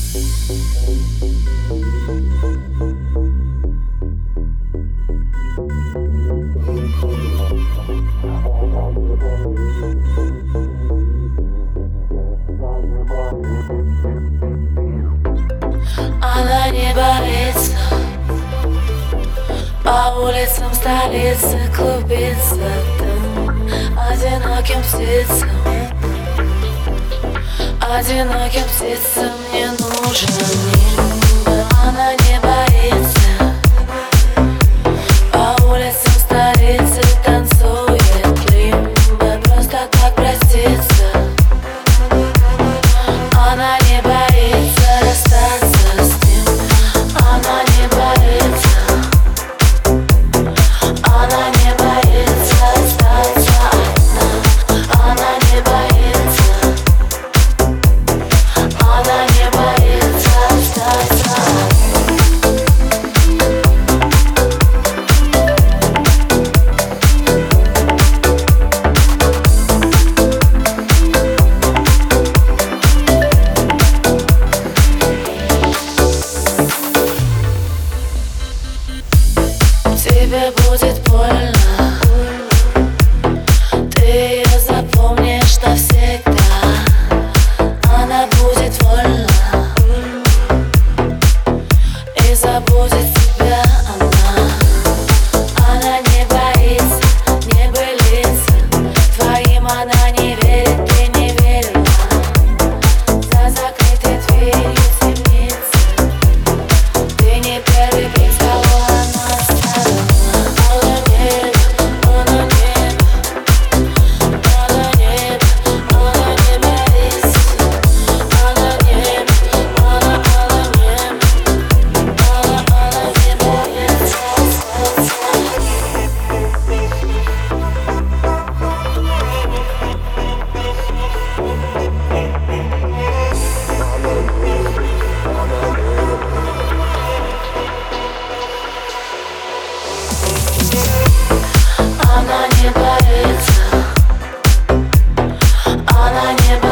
Она не боится по улицам столицы клубиться там одиноким птицам. Одиноким птицам не нужно нимб. Она не боится по улицам столицы танцует лимбо. Просто так проститься. Она не боится расстаться с ним. Она не боится. Она не боится остаться одна. Она не боится. Она не боится остаться одна. Тебе будет больно, ты ее запомнишь навсегда. Она будет вольна и забудет тебя она. Она не боится небылицы, твоим она не верит, ты не верила. За закрытой дверью темницы ты не первый, без кого она оставила. Она не боится. Она не боится.